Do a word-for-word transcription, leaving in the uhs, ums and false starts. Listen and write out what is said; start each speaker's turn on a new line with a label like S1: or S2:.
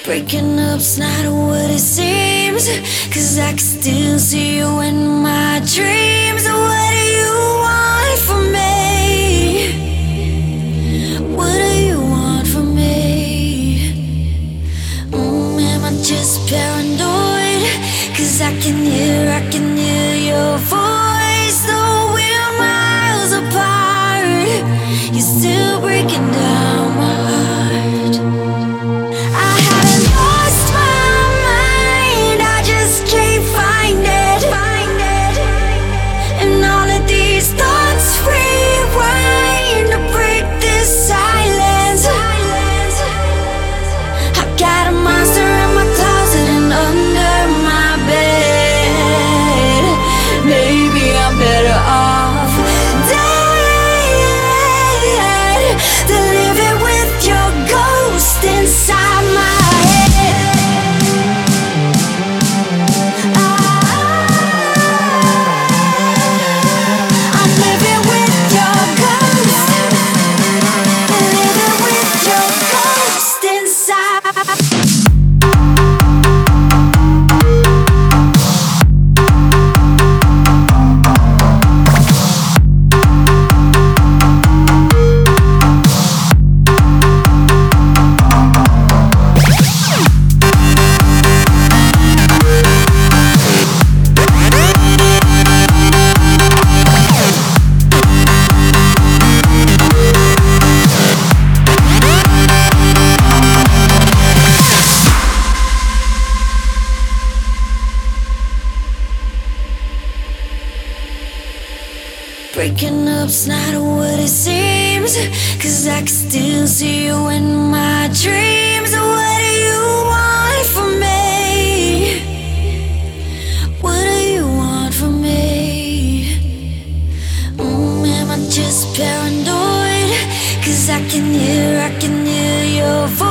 S1: Breaking up's not what it seems, 'cause I can still see you in my dreams. What do you want from me? What do you want from me? Mm, am I just paranoid? 'Cause I can hear, I can hear your voice. Though we're miles apart, you're still breaking down my heart. I haven't lost my mind, I just can't find it. And all of these thoughts rewind to break this silence. I got a monster in my closet and under my bed. Maybe I'm better off dead than living with your ghost inside my head. I'm living with your ghost, living with your ghost inside. Breaking up's not what it seems, 'cause I can still see you in my dreams. What do you want from me? What do you want from me? Mm, am I just paranoid? 'Cause I can hear, I can hear your voice.